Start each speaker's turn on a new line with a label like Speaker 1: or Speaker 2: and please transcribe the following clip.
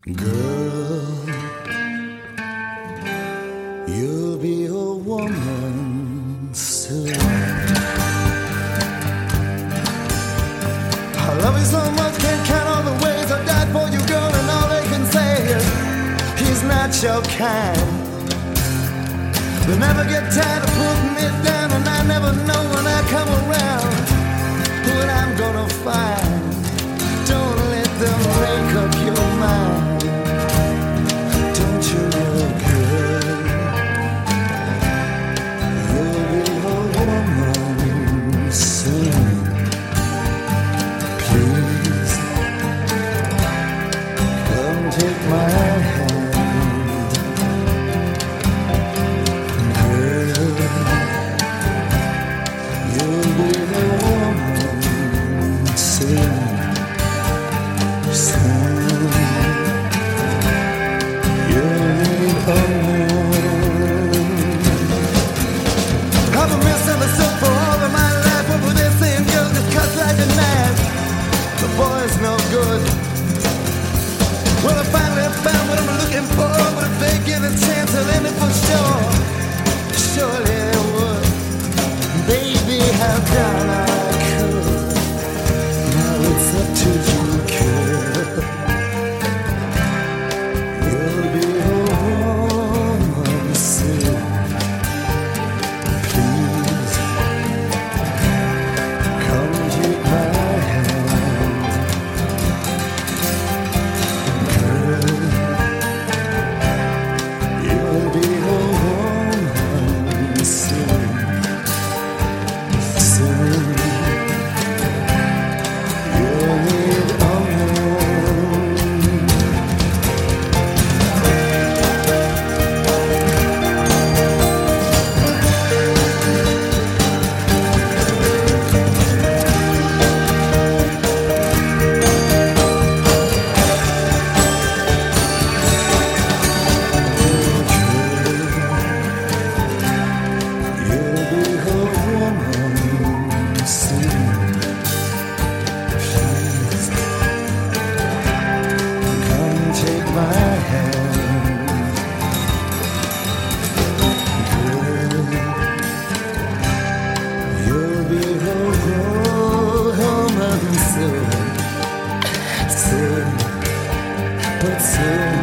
Speaker 1: Girl, you'll be a woman soon. I love you so much, can't count all the ways I died for you, girl, and all they can say is he's not your kind. They'll never get tired of putting me down, and I never know when I come around what I'm gonna find. Don't let them make up your mind. Don't you know, girl, you'll be a woman soon. Please, come take my hand. Girl, you'll be a woman soon. I've been misunderstood for all of my life. What were they saying, girl, just cuts like a knife. The boy's no good. Well, I finally found what I'm looking for, but if they give a chance, I'll end it for sure. Surely they would. Baby, how down I could. Now it's up to you, girl. You'll be a woman soon. Please, come take my hand. Girl, you'll be a woman soon. Soon, you'll need a woman. Soon, but soon.